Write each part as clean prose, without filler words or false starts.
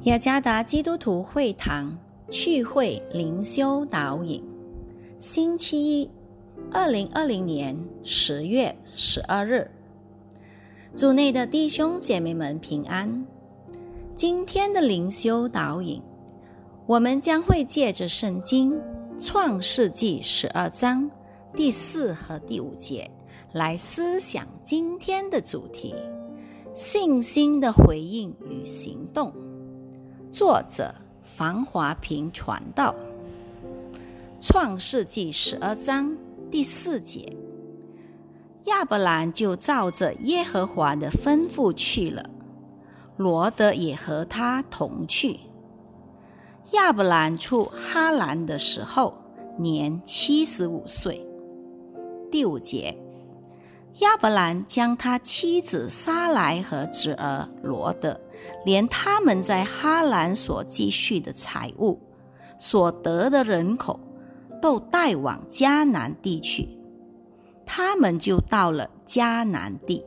雅加达基督徒会堂趣会灵修导引，星期一，2020年10月12日。主内的弟兄姐妹们平安。今天的灵修导引，我们将会借着圣经创世纪12章第4和第5节来思想今天的主题：信心的回应与行动。作者房华平传道。创世纪12章第4节，亚伯兰就照着耶和华的吩咐去了，罗得也和他同去。亚伯兰出哈兰的时候，年75岁。第5节，亚伯兰将他妻子撒来和侄儿罗得，连他们在哈兰所积蓄的财物、所得的人口，都带往迦南地去。他们就到了迦南地。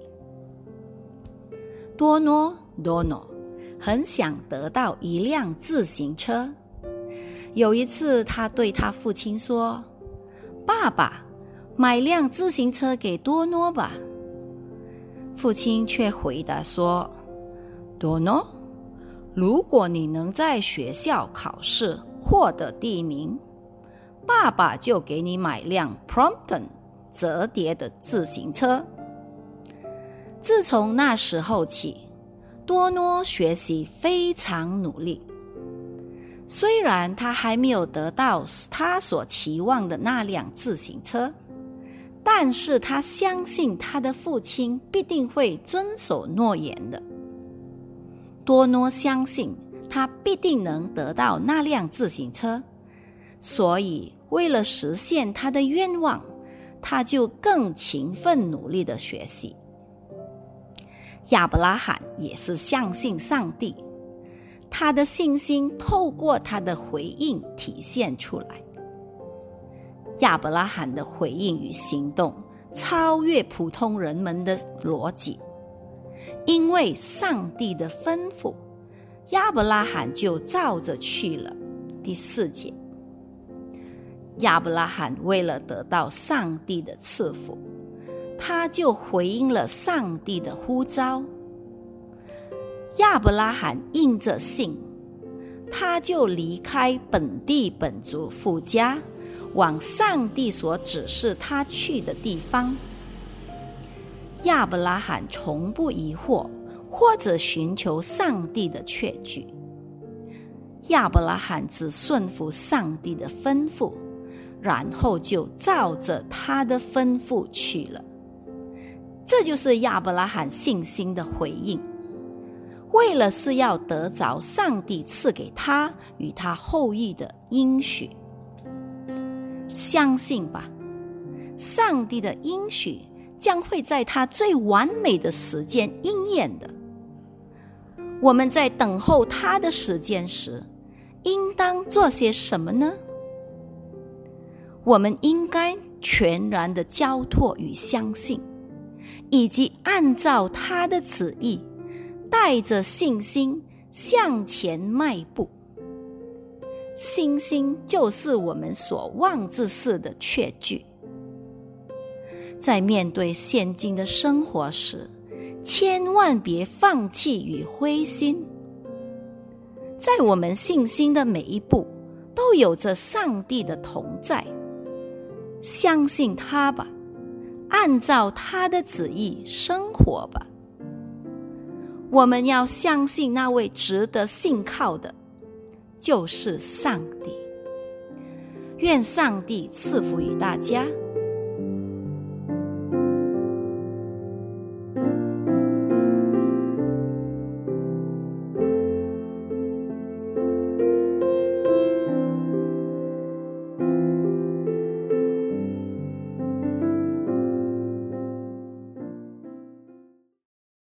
多诺很想得到一辆自行车。有一次，他对他父亲说：“爸爸，买辆自行车给多诺吧。”父亲却回答说：“多诺，如果你能在学校考试获得第一名，爸爸就给你买辆 Prompton 折叠的自行车。”自从那时候起，多诺学习非常努力。虽然他还没有得到他所期望的那辆自行车，但是他相信他的父亲必定会遵守诺言的。多诺相信他必定能得到那辆自行车，所以为了实现他的愿望，他就更勤奋努力地学习。亚伯拉罕也是相信上帝，他的信心透过他的回应体现出来。亚伯拉罕的回应与行动超越普通人们的逻辑，因为上帝的吩咐，亚伯拉罕就照着去了。第4节，亚伯拉罕为了得到上帝的赐福，他就回应了上帝的呼召。亚伯拉罕应着信，他就离开本地本族父家，往上帝所指示他去的地方。亚伯拉罕从不疑惑或者寻求上帝的确据，亚伯拉罕只顺服上帝的吩咐，然后就照着他的吩咐去了。这就是亚伯拉罕信心的回应，为了是要得着上帝赐给他与他后裔的应许。相信吧，上帝的应许将会在他最完美的时间应验的。我们在等候他的时间时，应当做些什么呢？我们应该全然的交托与相信，以及按照他的旨意，带着信心向前迈步。信心就是我们所望之事的确据。在面对现今的生活时，千万别放弃与灰心。在我们信心的每一步，都有着上帝的同在。相信他吧，按照他的旨意生活吧。我们要相信那位值得信靠的，就是上帝。愿上帝赐福于大家。